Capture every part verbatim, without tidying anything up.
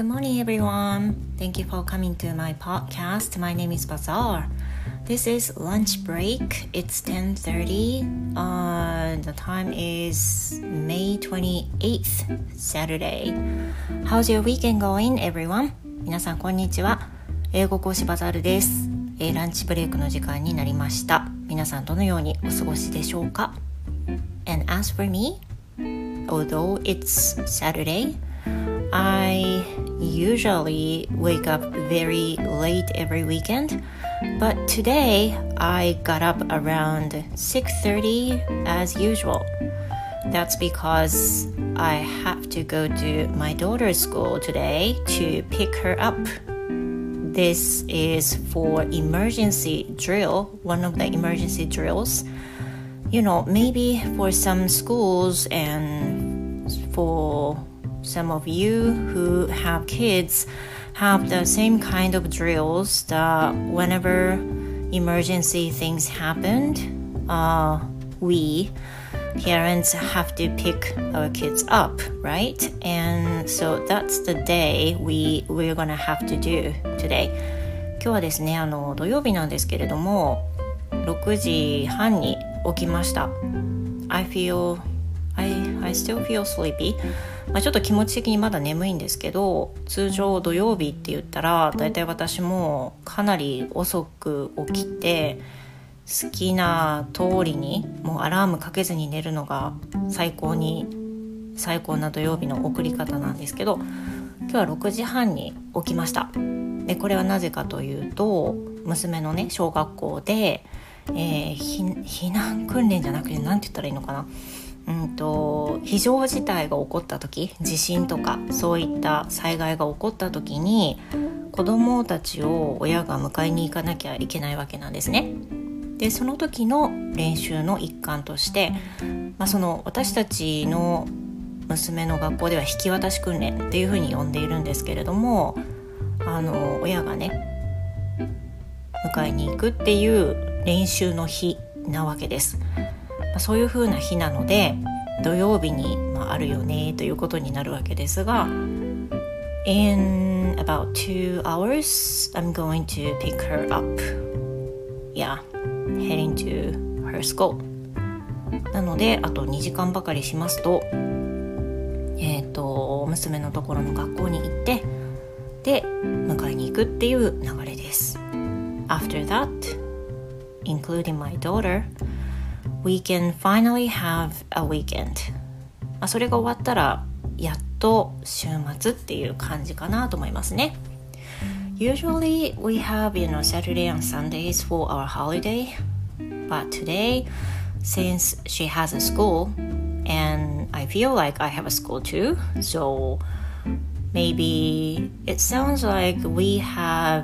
Good morning, everyone. Thank you for coming to my podcast. My name is Bazaar. This is lunch break. It's ten thirty. Uh, the time is May twenty-eighth, Saturday. How's your weekend going, everyone? 皆さんこんにちは。英語講師バザールです。えー、ランチブレイクの時間になりました。皆さんどのようにお過ごしでしょうか？ And as for me, although it's Saturday,I usually wake up very late every weekend, but today I got up around six thirty as usual. That's because I have to go to my daughter's school today to pick her up. This is for emergency drill, one of the emergency drills. You know, maybe for some schools and for...Some of you who have kids have the same kind of drills that whenever emergency things happened, uh, we parents have to pick our kids up, right? And so that's the day we, we're gonna have to do today. 今日はですね、あの土曜日なんですけれども、ろくじはんに起きました。I feel, I, I still feel sleepy.まあ、ちょっと気持ち的にまだ眠いんですけど、通常土曜日って言ったらだいたい私もかなり遅く起きて好きな通りにもうアラームかけずに寝るのが最高に最高な土曜日の送り方なんですけど、今日はろくじはんに起きました。でこれはなぜかというと、娘のね小学校で、えー、避難訓練じゃなくて何て言ったらいいのかな、うんと非常事態が起こった時、地震とかそういった災害が起こった時に子どもたちを親が迎えに行かなきゃいけないわけなんですね。でその時の練習の一環として、まあ、その私たちの娘の学校では引き渡し訓練っていうふうに呼んでいるんですけれども、あの親がね迎えに行くっていう練習の日なわけです。そういう風な日なので土曜日に、まあ、あるよねということになるわけですが、 In about two hours I'm going to pick her up. Yeah, heading to her school. なのであとにじかんばかりしますと、えーと娘のところの学校に行ってで迎えに行くっていう流れです。 After that, including my daughter,We can finally have a weekend. それが終わったらやっと週末っていう感じかなと思いますね。Usually we have, you know, Saturday and Sundays for our holiday, but today, since she has a school, and I feel like I have a school too, so maybe it sounds like we have,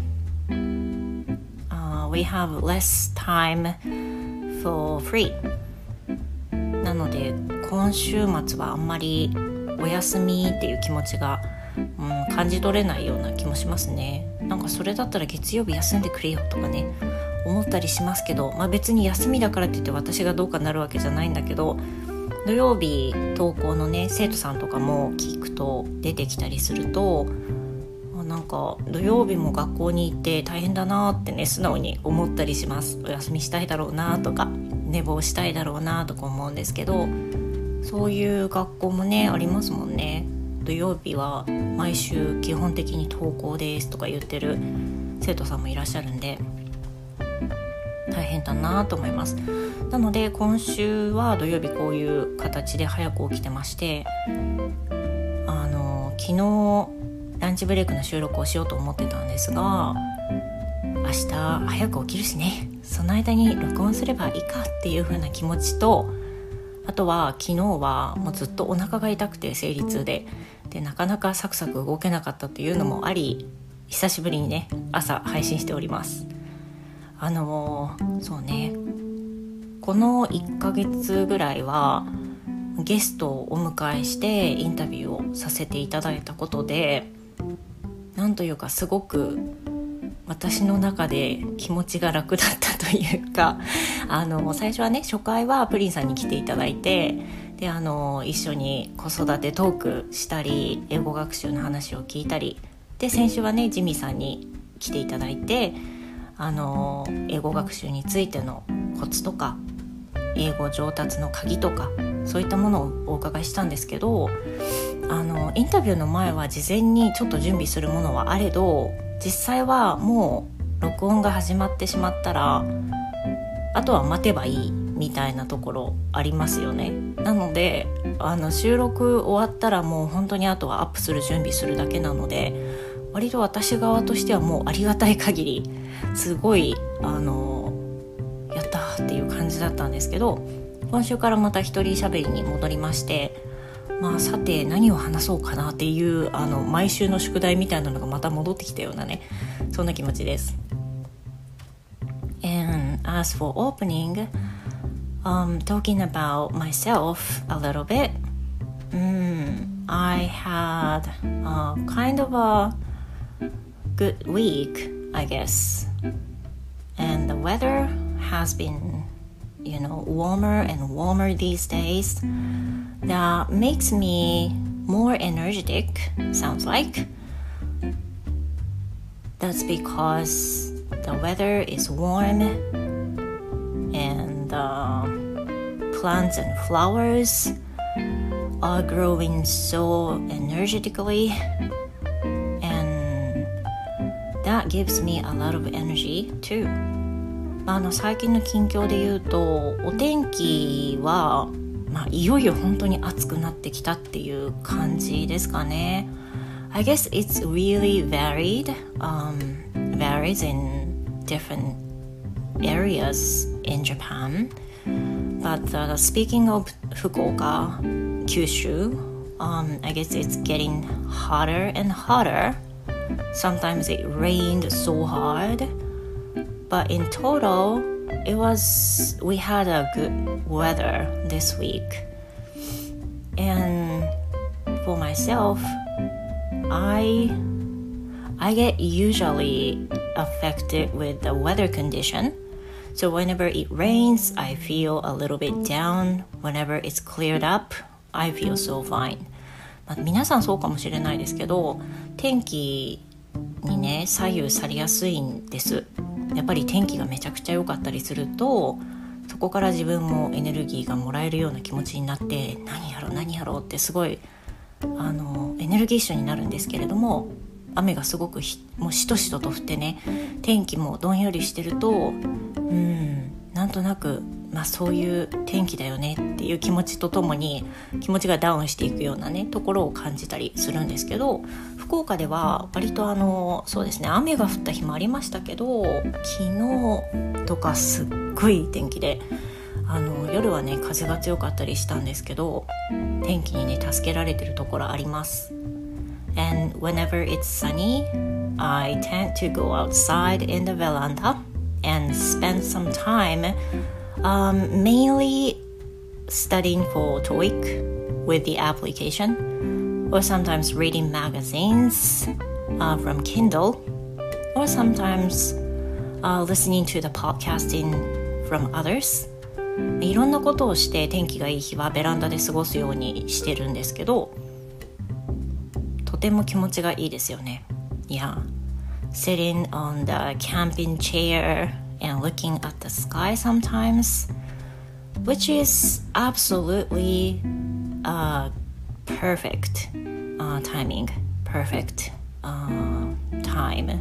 uh, we have less time.For free なので今週末はあんまりお休みっていう気持ちが、うん、感じ取れないような気もしますね。なんかそれだったら月曜日休んでくれよとかね思ったりしますけど、まあ、別に休みだからって言って私がどうかなるわけじゃないんだけど、土曜日登校のね生徒さんとかも聞くと出てきたりすると、なんか土曜日も学校に行って大変だなってね素直に思ったりします。お休みしたいだろうなとか寝坊したいだろうなとか思うんですけど、そういう学校もねありますもんね。土曜日は毎週基本的に登校ですとか言ってる生徒さんもいらっしゃるんで大変だなと思います。なので今週は土曜日こういう形で早く起きてまして、あの昨日ランチブレイクの収録をしようと思ってたんですが、明日早く起きるしね、その間に録音すればいいかっていう風な気持ちと、あとは昨日はもうずっとお腹が痛くて生理痛ででなかなかサクサク動けなかったっていうのもあり、久しぶりにね朝配信しております。あのそうねこのいっかげつぐらいはゲストをお迎えしてインタビューをさせていただいたことで、なんというかすごく私の中で気持ちが楽だったというか、あの最初はね初回はプリンさんに来ていただいて、 であの一緒に子育てトークしたり英語学習の話を聞いたりで、先週はねジミーさんに来ていただいてあの英語学習についてのコツとか英語上達の鍵とかそういったものをお伺いしたんですけど、あのインタビューの前は事前にちょっと準備するものはあれど、実際はもう録音が始まってしまったらあとは待てばいいみたいなところありますよね。なのであの収録終わったらもう本当にあとはアップする準備するだけなので、割と私側としてはもうありがたい限りすごいあのやったっていう感じだったんですけど、今週からまた一人喋りに戻りまして、まあさて何を話そうかなっていうあの毎週の宿題みたいなのがまた戻ってきたようなね、そんな気持ちです。 And as for opening, um, talking about myself a little bit, mm, I had a kind of a good week, I guess, and the weather has been, you know, warmer and warmer these days. That makes me more energetic, sounds like. That's because the weather is warm and uh, plants and flowers are growing so energetically, and that gives me a lot of energy too. あの最近の近況で言うと、お天気は、まあ、いよいよ本当に暑くなってきたっていう感じですかね。I guess it's really varied, um, varies in different areas in Japan. But uh, speaking of Fukuoka, Kyushu, um, I guess it's getting hotter and hotter. Sometimes it rained so hard.But in total, it was we had a good weather this week. And for myself, I I get usually affected with the weather condition. So whenever it rains, I feel a little bit down. Whenever it's cleared up, I feel so fine. まあ、皆さんそうかもしれないですけど、天気にね左右されやすいんです。やっぱり天気がめちゃくちゃ良かったりすると、そこから自分もエネルギーがもらえるような気持ちになって、何やろう何やろうってすごいあのエネルギッシュになるんですけれども、雨がすごくひもうしとしとと降ってね、天気もどんよりしてると、うんなんとなく、まあ、そういう天気だよねっていう気持ちとともに気持ちがダウンしていくようなねところを感じたりするんですけど、福岡では割とあのそうですね、雨が降った日もありましたけど、昨日とかすっごい天気で、あの夜はね風が強かったりしたんですけど、天気にね助けられてるところあります。 And whenever it's sunny, I tend to go outside in the veranda and spend some time um, mainly studying for TOEIC with the application, or sometimes reading magazines uh, from Kindle, or sometimes uh, listening to the podcasting from others. いろんなことをして天気がいい日はベランダで過ごすようにしてるんですけど、とても気持ちがいいですよね。Yeah, sitting on the camping chair and looking at the sky sometimes, which is absolutely uh, perfect uh, timing, perfect uh, time.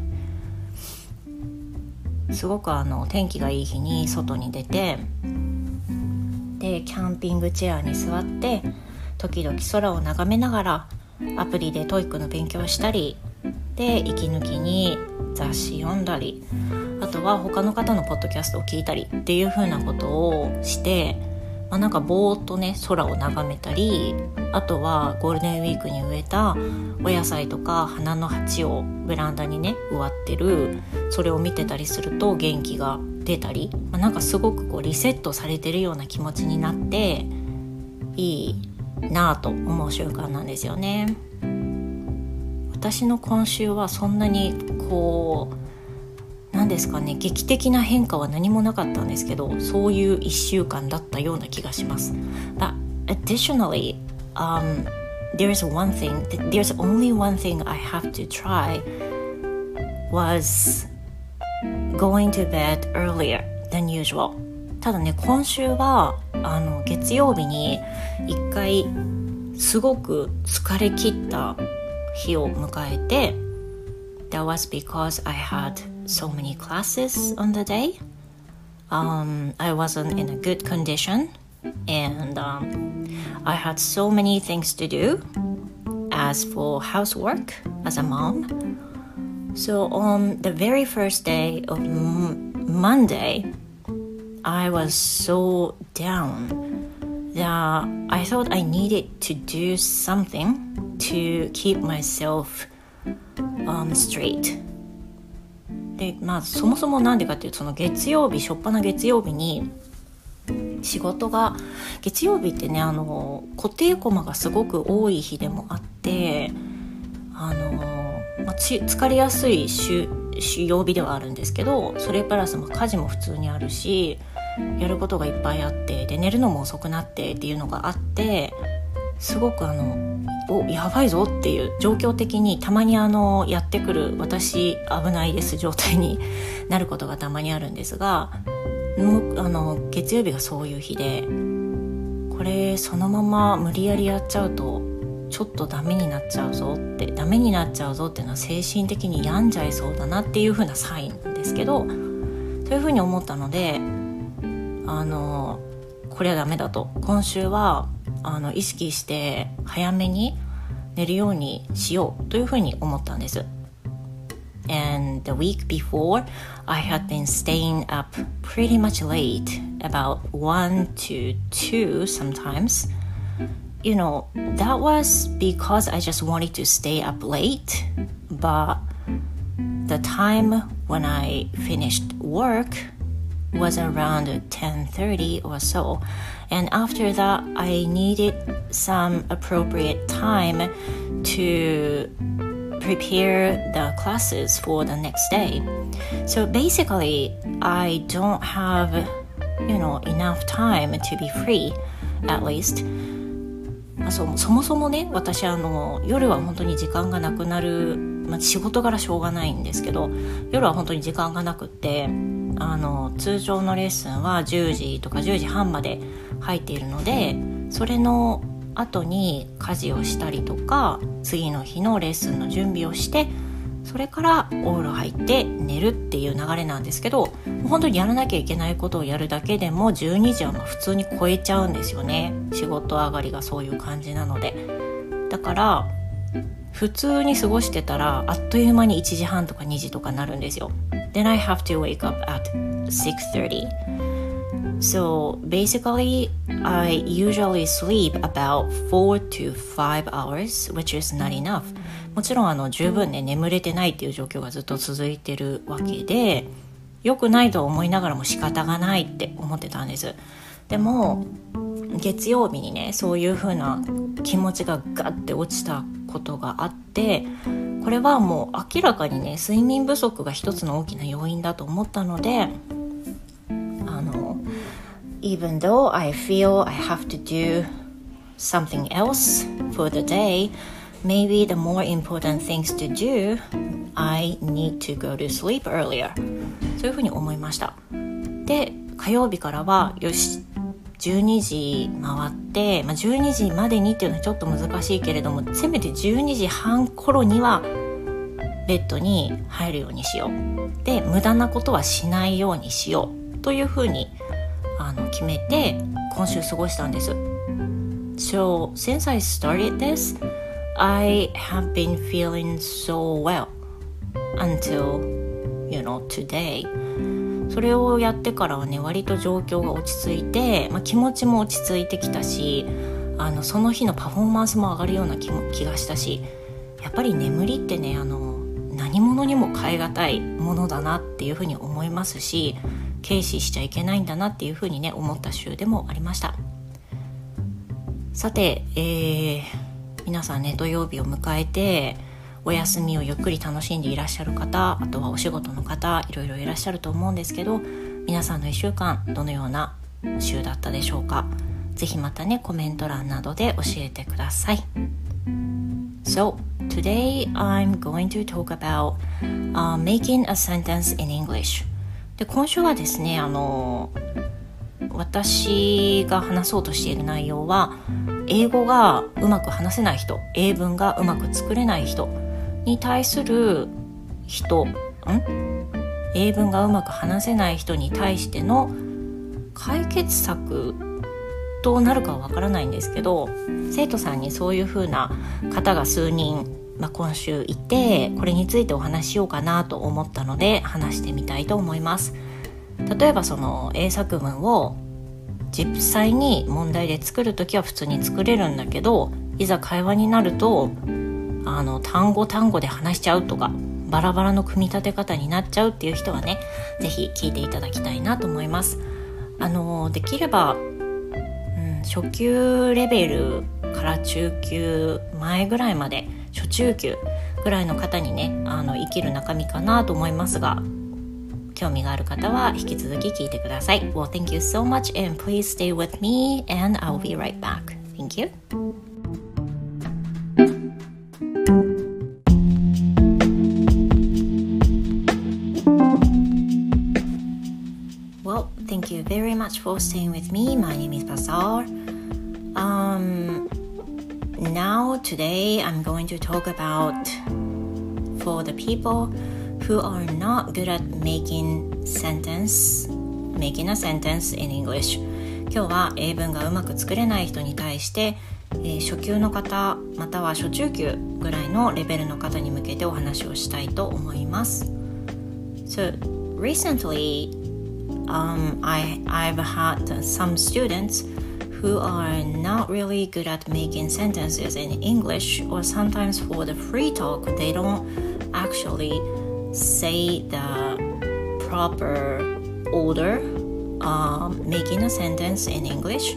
すごくあの天気がいい日に外に出て、でキャンピングチェアに座って時々空を眺めながらアプリでトイックの勉強をしたりで、息抜きに雑誌読んだり、あとは他の方のポッドキャストを聞いたりっていう風なことをして、まあ、なんかぼーっとね空を眺めたり、あとはゴールデンウィークに植えたお野菜とか花の鉢をベランダにね植わってる、それを見てたりすると元気が出たり、まあ、なんかすごくこうリセットされてるような気持ちになっていいなぁと思う習慣なんですよね。私の今週はそんなにこうなんですかね、劇的な変化は何もなかったんですけど、そういういっしゅうかんだったような気がします。 But additionally, um, there's one thing, there's only one thing I have to try was going to bed earlier than usual. ただね、今週はあの月曜日に一回すごく疲れ切った日を迎えて、That was because I had so many classes on the day. Um, I wasn't in a good condition, and um, I had so many things to do. As for housework as a mom, so on the very first day of m- Monday, I was so down that I thought I needed to do something to keep myself um, straight. で、まあそもそもなんでかっていうと、その月曜日、初っ端月曜日に仕事が、月曜日ってね、あの固定コマがすごく多い日でもあって、あの、まあ、ち疲れやすい週曜日ではあるんですけど、それプラスまあ家事も普通にあるし、やることがいっぱいあって、で寝るのも遅くなってっていうのがあって、すごくあのおやばいぞっていう状況的にたまにあのやってくる私危ないです状態になることがたまにあるんですが、もあの月曜日がそういう日で、これそのまま無理やりやっちゃうとちょっとダメになっちゃうぞってダメになっちゃうぞっていうのは精神的に病んじゃいそうだなっていう風なサインなんですけど、そういう風に思ったので、あのこれはダメだと、今週はあの意識して早めに寝るようにしようという風に思ったんです。And the week before, I had been staying up pretty much late, about one to two sometimes. You know, that was because I just wanted to stay up late, but the time when I finished work was around ten thirty or so. And after that, I needed some appropriate time to prepare the classes for the next day. So basically, I don't have, you know, enough time to be free, at least. そ, そもそもね、私あの夜は本当に時間がなくなる、まあ、仕事柄しょうがないんですけど、夜は本当に時間がなくって、あの通常のレッスンはじゅうじとかじゅうじはんまで入っているので、それの後に家事をしたりとか、次の日のレッスンの準備をして、それからお風呂入って寝るっていう流れなんですけど、本当にやらなきゃいけないことをやるだけでもじゅうにじはまあ普通に超えちゃうんですよね。仕事上がりがそういう感じなので。だから普通に過ごしてたらあっという間にいちじはんとかにじとかなるんですよ。Then I have to wake up at six thirty. So basically, I usually sleep about four to five hours, which is not enough. もちろんあの十分ね眠れてないっていう状況がずっと続いてるわけで、良くないと思いながらも仕方がないって思ってたんです。でも月曜日にね、そういう風な気持ちがガッて落ちたことがあって、これはもう明らかにね睡眠不足が一つの大きな要因だと思ったので、あの Even though I feel I have to do something else for the day, maybe the more important things to do, I need to go to sleep earlier. そういうふうに思いました。で、火曜日からはよしじゅうにじ回って、まあ、じゅうにじまでにっていうのはちょっと難しいけれども、せめてじゅうにじはん頃にはベッドに入るようにしよう。で、無駄なことはしないようにしようというふうにあの決めて今週過ごしたんです。So, since I started this, I have been feeling so well until, you know, today. それをやってからはね、割と状況が落ち着いて、まあ、気持ちも落ち着いてきたし、あのその日のパフォーマンスも上がるような 気, も気がしたし、やっぱり眠りってね、あの何者にも代え難いものだなっていうふうに思いますし、軽視しちゃいけないんだなっていうふうにね思った週でもありました。さて、えー、皆さんね、土曜日を迎えてお休みをゆっくり楽しんでいらっしゃる方、あとはお仕事の方、いろいろいらっしゃると思うんですけど、皆さんのいっしゅうかんどのような週だったでしょうか。 ぜひまたねコメント欄などで教えてください。 So today I'm going to talk about、uh, making a sentence in English。 で今週はですねあの私が話そうとしている内容は英語がうまく話せない人、英文がうまく作れない人に対する人ん英文がうまく話せない人に対しての解決策となるかはわからないんですけど、生徒さんにそういう風な方が数人、まあ、今週いて、これについてお話ししようかなと思ったので話してみたいと思います。例えばその英作文を実際に問題で作るときは普通に作れるんだけど、いざ会話になるとあの単語単語で話しちゃうとかバラバラの組み立て方になっちゃうっていう人はね、ぜひ聞いていただきたいなと思います。あのできれば、うん、初級レベルから中級前ぐらいまで、初中級ぐらいの方にねあの生きる中身かなと思いますが、興味がある方は引き続き聞いてください。 Well, thank you so much and please stay with me and I'll be right back. Thank you. Well, thank you very much for staying with me. My name is Bazaar. Um, now today I'm going to talk about for the people who are not good at making sentence, making a sentence in English。 今日は英文がうまく作れない人に対して、えー、初級の方または初中級ぐらいのレベルの方に向けてお話をしたいと思います。 So recently, um, I, I've had some students who are not really good at making sentences in English, or sometimes for the free talk they don't actually say the proper order, um, making a sentence in English.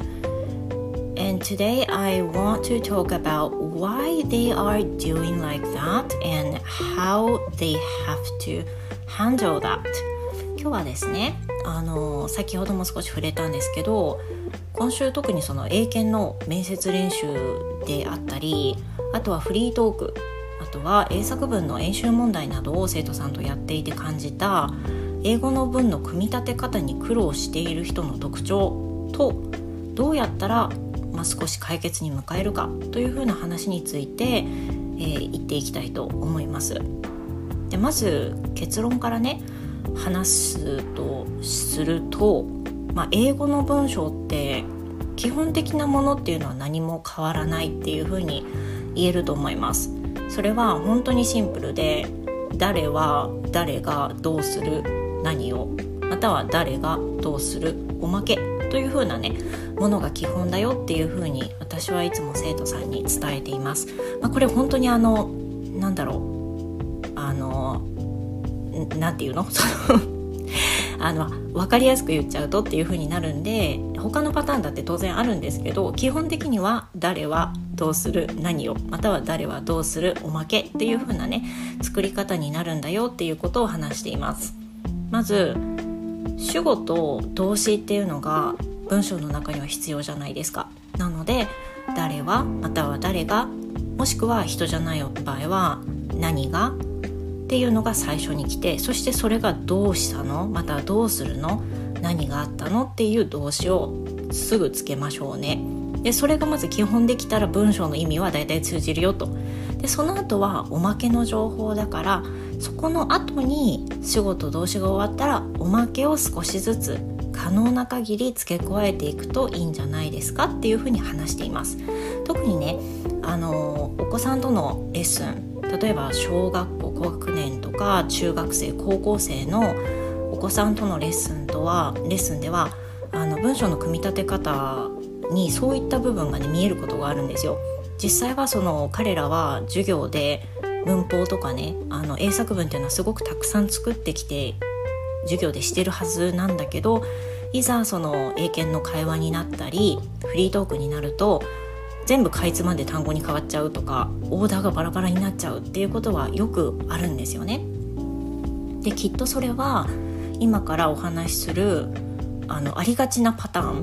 And today I want to talk about why they are doing like that and how they have to handle that。 今日はですねあの先ほども少し触れたんですけど、今週特にその英検の面接練習であったり、あとはフリートーク、あとは英作文の演習問題などを生徒さんとやっていて感じた英語の文の組み立て方に苦労している人の特徴と、どうやったら、まあ、少し解決に向かえるかというふうな話について、えー、言っていきたいと思います。でまず結論からね話すとすると、まあ、英語の文章って基本的なものっていうのは何も変わらないっていうふうに言えると思います。それは本当にシンプルで、誰は誰がどうする何を、または誰がどうするおまけという風なねものが基本だよっていう風に私はいつも生徒さんに伝えています。まあ、これ本当にあのなんだろうあのなんていうのあの分かりやすく言っちゃうとっていう風になるんで、他のパターンだって当然あるんですけど、基本的には誰はどうする何を、または誰はどうするおまけっていう風なね作り方になるんだよっていうことを話しています。まず主語と動詞っていうのが文章の中には必要じゃないですか。なので誰はまたは誰が、もしくは人じゃない場合は何がっていうのが最初に来て、そしてそれがどうしたの、またはどうするの、何があったのっていう動詞をすぐつけましょうね。でそれがまず基本できたら文章の意味はだいたい通じるよと。でその後はおまけの情報だから、そこの後に主語と動詞が終わったらおまけを少しずつ可能な限り付け加えていくといいんじゃないですかっていうふうに話しています。特にねあのお子さんとのレッスン、例えば小学校高学年とか中学生高校生のお子さんとのレッスンとはレッスンではあの文章の組み立て方にそういった部分が、ね、見えることがあるんですよ。実際はその彼らは授業で文法とかねあの英作文っていうのはすごくたくさん作ってきて授業でしてるはずなんだけど、いざその英検の会話になったりフリートークになると全部かいつまんで単語に変わっちゃうとか、オーダーがバラバラになっちゃうっていうことはよくあるんですよね。できっとそれは今からお話しする あのありがちなパターン、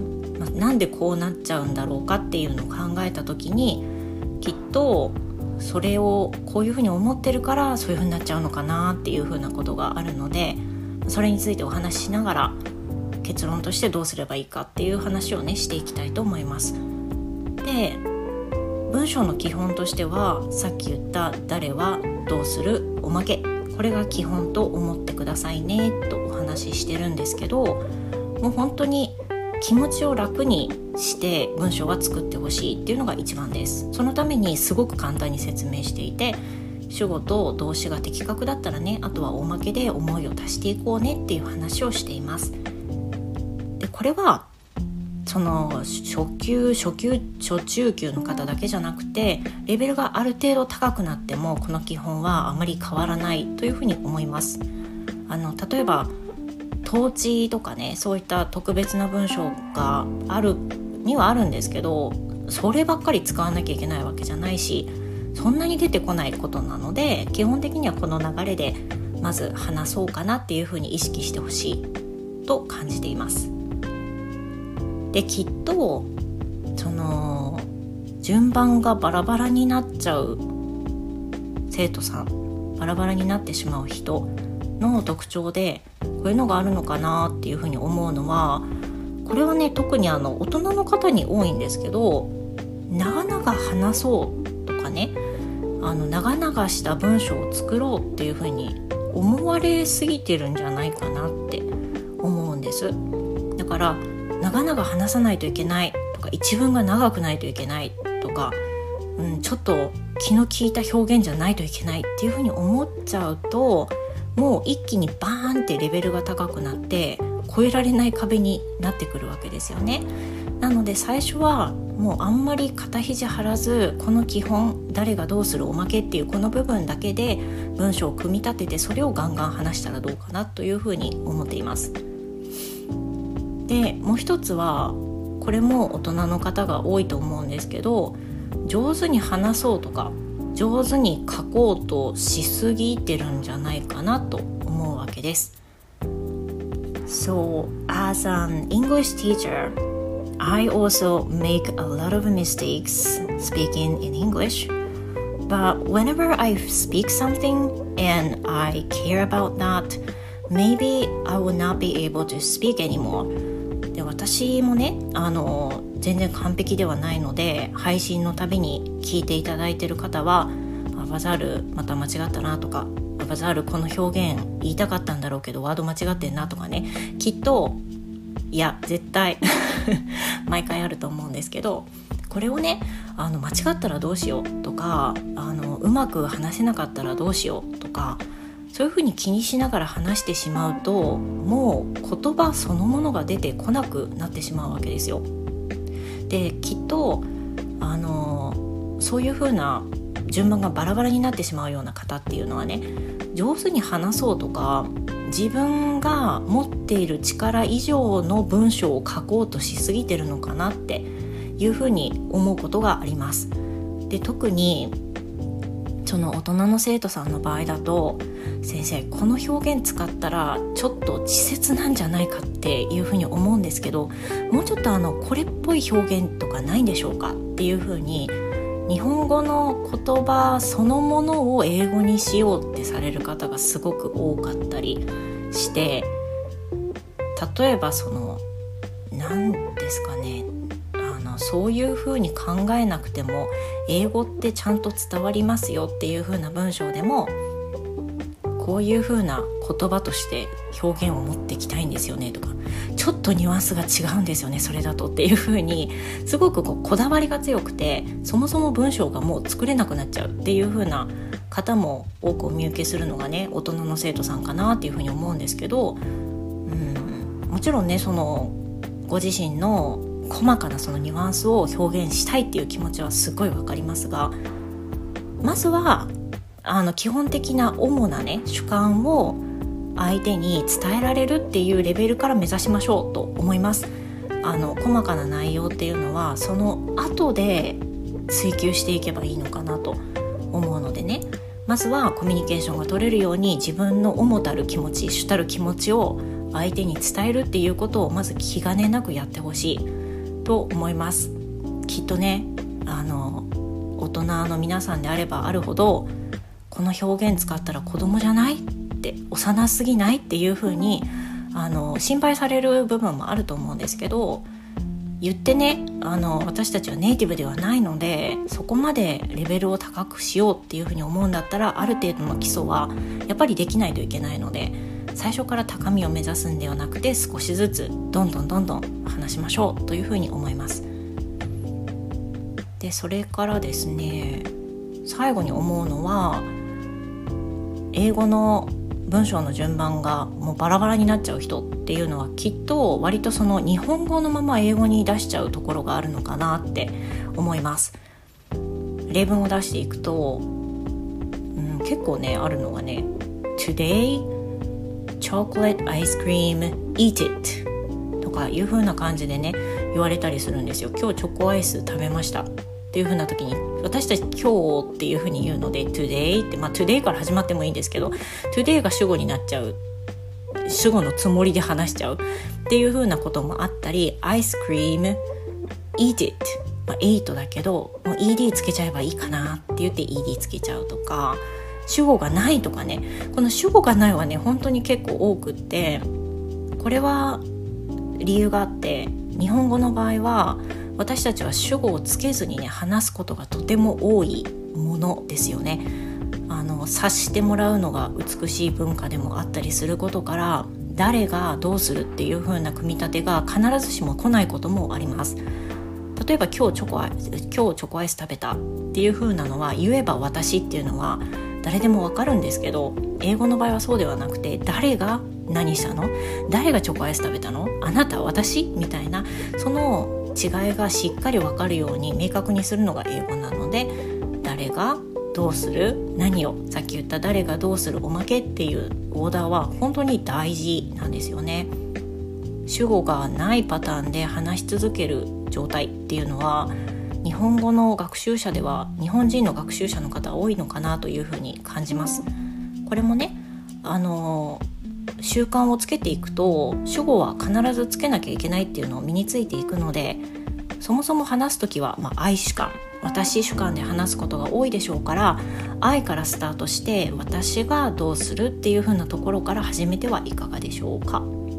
まあ、なんでこうなっちゃうんだろうかっていうのを考えた時に、きっとそれをこういうふうに思ってるからそういうふうになっちゃうのかなっていうふうなことがあるので、それについてお話ししながら結論としてどうすればいいかっていう話をねしていきたいと思います。で、文章の基本としてはさっき言った誰はどうするおまけ、これが基本と思ってくださいねとお話ししてるんですけど、もう本当に気持ちを楽にして文章が作ってほしいっていうのが一番です。そのためにすごく簡単に説明していて、主語と動詞が的確だったらね、あとはおまけで思いを足していこうねっていう話をしています。で、これはその初級初級初中級の方だけじゃなくて、レベルがある程度高くなってもこの基本はあまり変わらないというふうに思います。あの例えば統治とかね、そういった特別な文章があるにはあるんですけど、そればっかり使わなきゃいけないわけじゃないし、そんなに出てこないことなので、基本的にはこの流れでまず話そうかなっていうふうに意識してほしいと感じています。で、きっとその順番がバラバラになっちゃう生徒さん、バラバラになってしまう人の特徴でこういうのがあるのかなっていうふうに思うのは、これはね特にあの大人の方に多いんですけど、長々話そうとかね、あの長々した文章を作ろうっていうふうに思われすぎてるんじゃないかなって思うんです。だから長々話さないといけないとか、一文が長くないといけないとか、うん、ちょっと気の利いた表現じゃないといけないっていうふうに思っちゃうと、もう一気にバーンってレベルが高くなって越えられない壁になってくるわけですよね。なので最初はもうあんまり肩肘張らず、この基本、誰がどうするおまけっていうこの部分だけで文章を組み立てて、それをガンガン話したらどうかなというふうに思っています。で、もう一つはこれも大人の方が多いと思うんですけど、上手に話そうとか上手に書こうとしすぎてるんじゃないかなと思うわけです。So, as an English teacher, I also make a lot of mistakes speaking in English. But whenever I speak something and I care about that, maybe I will not be able to speak anymore. で、私もね、あの全然完璧ではないので、配信のたびに聞いていただいている方は、あ、バザールまた間違ったなとか、バザールこの表現言いたかったんだろうけどワード間違ってんなとかね、きっといや絶対毎回あると思うんですけど、これをね、あの間違ったらどうしようとか、あのうまく話せなかったらどうしようとか、そういうふうに気にしながら話してしまうと、もう言葉そのものが出てこなくなってしまうわけですよ。で、きっとあのそういうふうな順番がバラバラになってしまうような方っていうのはね、上手に話そうとか、自分が持っている力以上の文章を書こうとしすぎてるのかなっていうふうに思うことがあります。で、特にその大人の生徒さんの場合だと、先生この表現使ったらちょっと稚拙なんじゃないかっていうふうに思うんですけど、もうちょっとあのこれっぽい表現とかないんでしょうかっていうふうに、日本語の言葉そのものを英語にしようってされる方がすごく多かったりして、例えばその何ですかね、あのそういう風に考えなくても英語ってちゃんと伝わりますよっていう風な文章でも、こういう風な言葉として表現を持っていきたいんですよねとか、ちょっとニュアンスが違うんですよねそれだとっていう風に、すごくこうこだわりが強くて、そもそも文章がもう作れなくなっちゃうっていう風な方も多くお見受けするのがね、大人の生徒さんかなっていう風に思うんですけど、うん、もちろんね、そのご自身の細かなそのニュアンスを表現したいっていう気持ちはすごいわかりますが、まずはあの基本的な主なね主観を相手に伝えられるっていうレベルから目指しましょうと思います。あの細かな内容っていうのはその後で追求していけばいいのかなと思うのでね、まずはコミュニケーションが取れるように自分の主たる気持ち、主たる気持ちを相手に伝えるっていうことをまず気兼ねなくやってほしい。 と思います。きっとね、あの大人の皆さんであればあるほど、この表現使ったら子供じゃないって幼すぎないっていう風にあの心配される部分もあると思うんですけど、言ってね、あの私たちはネイティブではないので、そこまでレベルを高くしようっていう風に思うんだったら、ある程度の基礎はやっぱりできないといけないので、最初から高みを目指すんではなくて、少しずつどんどんどんどん話しましょうという風に思います。でそれからですね、最後に思うのは、英語の文章の順番がもうバラバラになっちゃう人っていうのは、きっと割とその日本語のまま英語に出しちゃうところがあるのかなって思います。例文を出していくと、うん、結構ねあるのがね、 Today chocolate ice cream eat it とかいう風な感じでね言われたりするんですよ。今日チョコアイス食べましたっていう風な時に、私たち今日っていう風に言うので today って、まあ today から始まってもいいんですけど、 today が主語になっちゃう、主語のつもりで話しちゃうっていう風なこともあったり、アイスクリーム eat it、まあ、eat だけどもう イーディー つけちゃえばいいかなって言って イーディー つけちゃうとか、主語がないとかね、この主語がないはね本当に結構多くって、これは理由があって、日本語の場合は私たちは主語をつけずにね話すことがとても多いものですよね。あの察してもらうのが美しい文化でもあったりすることから、誰がどうするっていう風な組み立てが必ずしも来ないこともあります。例えば今日チョコアイス、今日チョコアイス食べたっていう風なのは、言えば私っていうのは誰でもわかるんですけど、英語の場合はそうではなくて、誰が何したの、誰がチョコアイス食べたの、あなた、私みたいな、その違いがしっかりわかるように明確にするのが英語なので、誰がどうする、何を、さっき言った誰がどうする、おまけっていうオーダーは本当に大事なんですよね。主語がないパターンで話し続ける状態っていうのは、日本語の学習者では、日本人の学習者の方多いのかなというふうに感じます。これもね、あの習慣をつけていくと、主語は必ずつけなきゃいけないっていうのを身についていくので、そもそも話すときは、まあ、愛主観、私主観で話すことが多いでしょうから、愛からスタートして私がどうするっていう風なところから始めてはいかがでしょうか。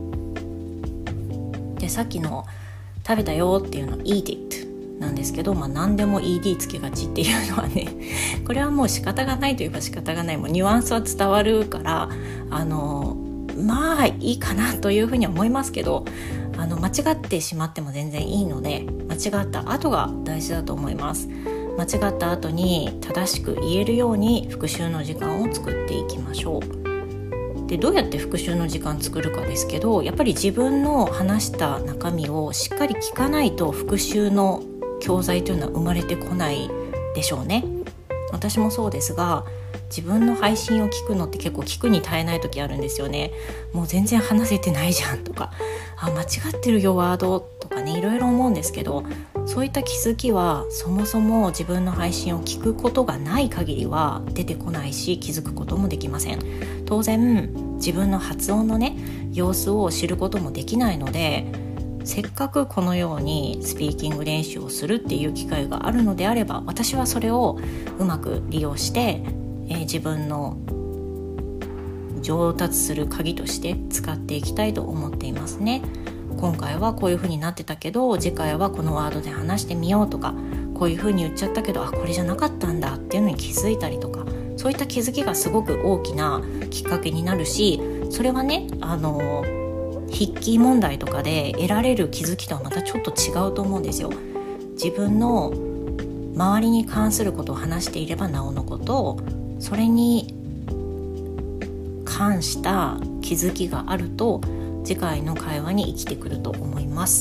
でさっきの食べたよっていうの eat it なんですけど、まあ、何でも イーディー つけがちっていうのはねこれはもう仕方がないといえば仕方がない、もうニュアンスは伝わるから、あのまあいいかなというふうには思いますけど、あの間違ってしまっても全然いいので、間違った後が大事だと思います。間違った後に正しく言えるように復習の時間を作っていきましょう。でどうやって復習の時間作るかですけど、やっぱり自分の話した中身をしっかり聞かないと復習の教材というのは生まれてこないでしょうね。私もそうですが、自分の配信を聞くのって結構聞くに耐えない時あるんですよね。もう全然話せてないじゃんとか、あ間違ってるよワードとかね、いろいろ思うんですけど、そういった気づきはそもそも自分の配信を聞くことがない限りは出てこないし、気づくこともできません。当然自分の発音のね様子を知ることもできないので、せっかくこのようにスピーキング練習をするっていう機会があるのであれば、私はそれをうまく利用して、えー、自分の上達する鍵として使っていきたいと思っていますね。今回はこういう風になってたけど、次回はこのワードで話してみようとか、こういう風に言っちゃったけど、あこれじゃなかったんだっていうのに気づいたりとか、そういった気づきがすごく大きなきっかけになるし、それはね、あの筆記問題とかで得られる気づきとはまたちょっと違うと思うんですよ。自分の周りに関することを話していればなおのこと、それに関した気づきがあると次回の会話に生きてくると思います。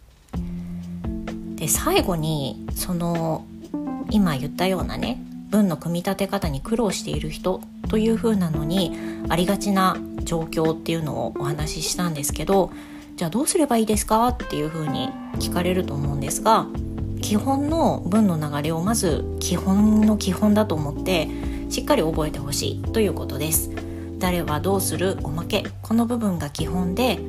で最後に、その今言ったようなね文の組み立て方に苦労している人という風なのにありがちな状況っていうのをお話ししたんですけど、じゃあどうすればいいですかっていう風に聞かれると思うんですが、基本の文の流れをまず基本の基本だと思ってしっかり覚えてほしいということです。誰はどうする、おまけ、この部分が基本で、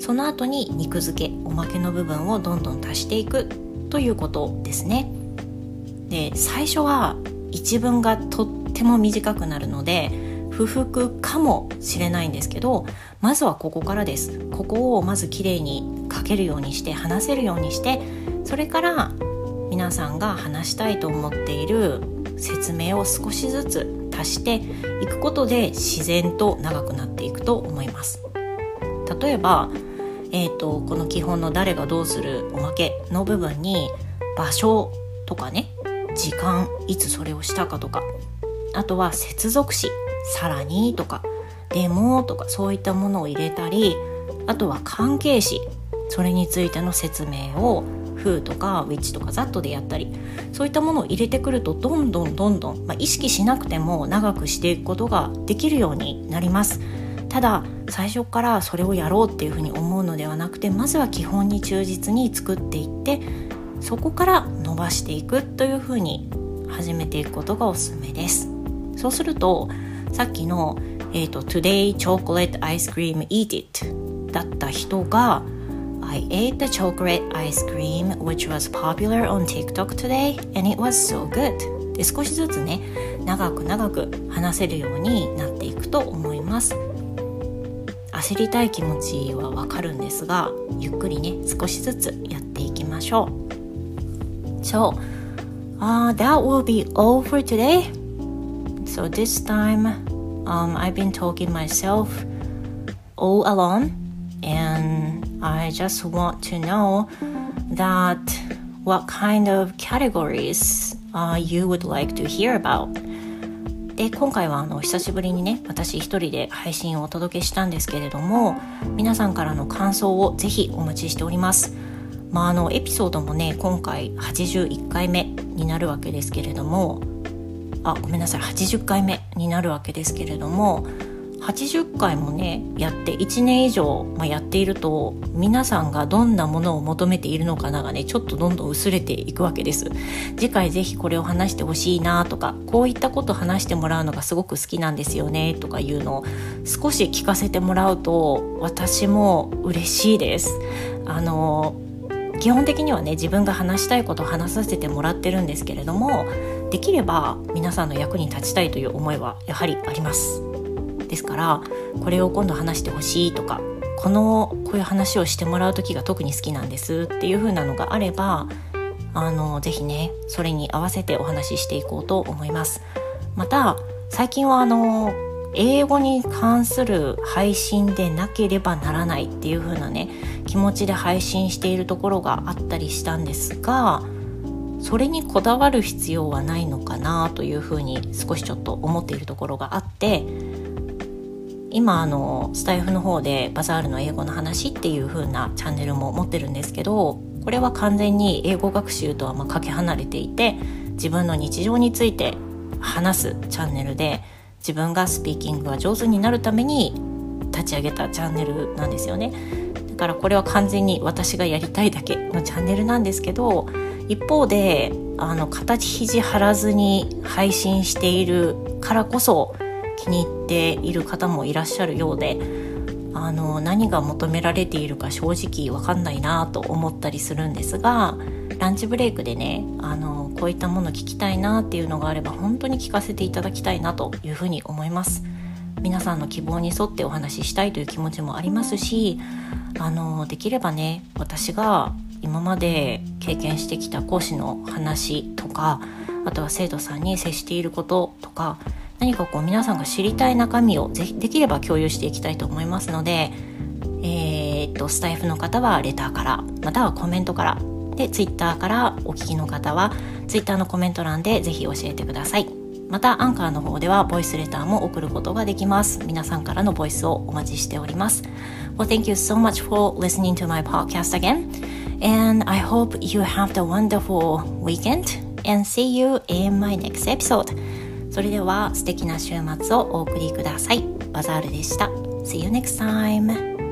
その後に肉付け、おまけの部分をどんどん足していくということですね。で、最初は一文がとっても短くなるので不服かもしれないんですけど、まずはここからです。ここをまずきれいに書けるようにして、話せるようにして、それから皆さんが話したいと思っている説明を少しずつ足していくことで自然と長くなっていくと思います。例えば、えーと、この基本の誰がどうするおまけの部分に場所とかね、時間、いつそれをしたかとか、あとは接続詞、さらにとかでもとか、そういったものを入れたり、あとは関係詞、それについての説明を who とか which とか that でやったり、そういったものを入れてくるとどんどんどんどん、まあ、意識しなくても長くしていくことができるようになります。ただ最初からそれをやろうっていうふうに思うのではなくて、まずは基本に忠実に作っていって、そこから伸ばしていくというふうに始めていくことがおすすめです。そうするとさっきの、えーと、Today chocolate ice cream eat it だった人が I ate the chocolate ice cream which was popular on TikTok today and it was so good で、少しずつね、長く長く話せるようになっていくと思います。焦りたい気持ちはわかるんですが、ゆっくりね、少しずつやっていきましょう。So, uh, that will be all for today. So this time, um, I've been talking myself all alone, and I just want to know that what kind of categories uh, you would like to hear about. で、今回はあの久しぶりにね、私一人で配信をお届けしたんですけれども、皆さんからの感想をぜひお待ちしております。まあ、あのエピソードもね、今回はちじゅういっかいめになるわけですけれども、あ、ごめんなさい、はちじゅっかいめになるわけですけれども、はちじゅっかいもねやっていちねん以上、まあ、やっていると、皆さんがどんなものを求めているのかながね、ちょっとどんどん薄れていくわけです。次回ぜひこれを話してほしいなとか、こういったこと話してもらうのがすごく好きなんですよねとかいうのを少し聞かせてもらうと、私も嬉しいです。あの基本的にはね、自分が話したいことを話させてもらってるんですけれども、できれば皆さんの役に立ちたいという思いはやはりあります。ですから、これを今度話してほしいとか、このこういう話をしてもらう時が特に好きなんですっていう風なのがあれば、あのぜひね、それに合わせてお話ししていこうと思います。また最近はあの英語に関する配信でなければならないっていう風なね、気持ちで配信しているところがあったりしたんですが、それにこだわる必要はないのかなという風に少しちょっと思っているところがあって、今あのスタイフの方でバザールの英語の話っていう風なチャンネルも持ってるんですけど、これは完全に英語学習とはまあかけ離れていて、自分の日常について話すチャンネルで、自分がスピーキングが上手になるために立ち上げたチャンネルなんですよね。だからこれは完全に私がやりたいだけのチャンネルなんですけど、一方であの形肘張らずに配信しているからこそ気に入っている方もいらっしゃるようで、あの何が求められているか正直分かんないなと思ったりするんですが、ランチブレイクでね、あのこういったもの聞きたいなっていうのがあれば、本当に聞かせていただきたいなというふうに思います。皆さんの希望に沿ってお話ししたいという気持ちもありますし、あのできればね、私が今まで経験してきた講師の話とか、あとは生徒さんに接していることとか、何かこう皆さんが知りたい中身をぜひできれば共有していきたいと思いますので、えー、っとスタイフの方はレターから、またはコメントから、でツイッターからお聞きの方はツイッターのコメント欄でぜひ教えてください。またアンカーの方ではボイスレターも送ることができます。皆さんからのボイスをお待ちしております。Well, thank you so much for listening to my podcast again, and I hope you have a wonderful weekend and see you in my next episode. それでは素敵な週末をお送りください。バザールでした。See you next time.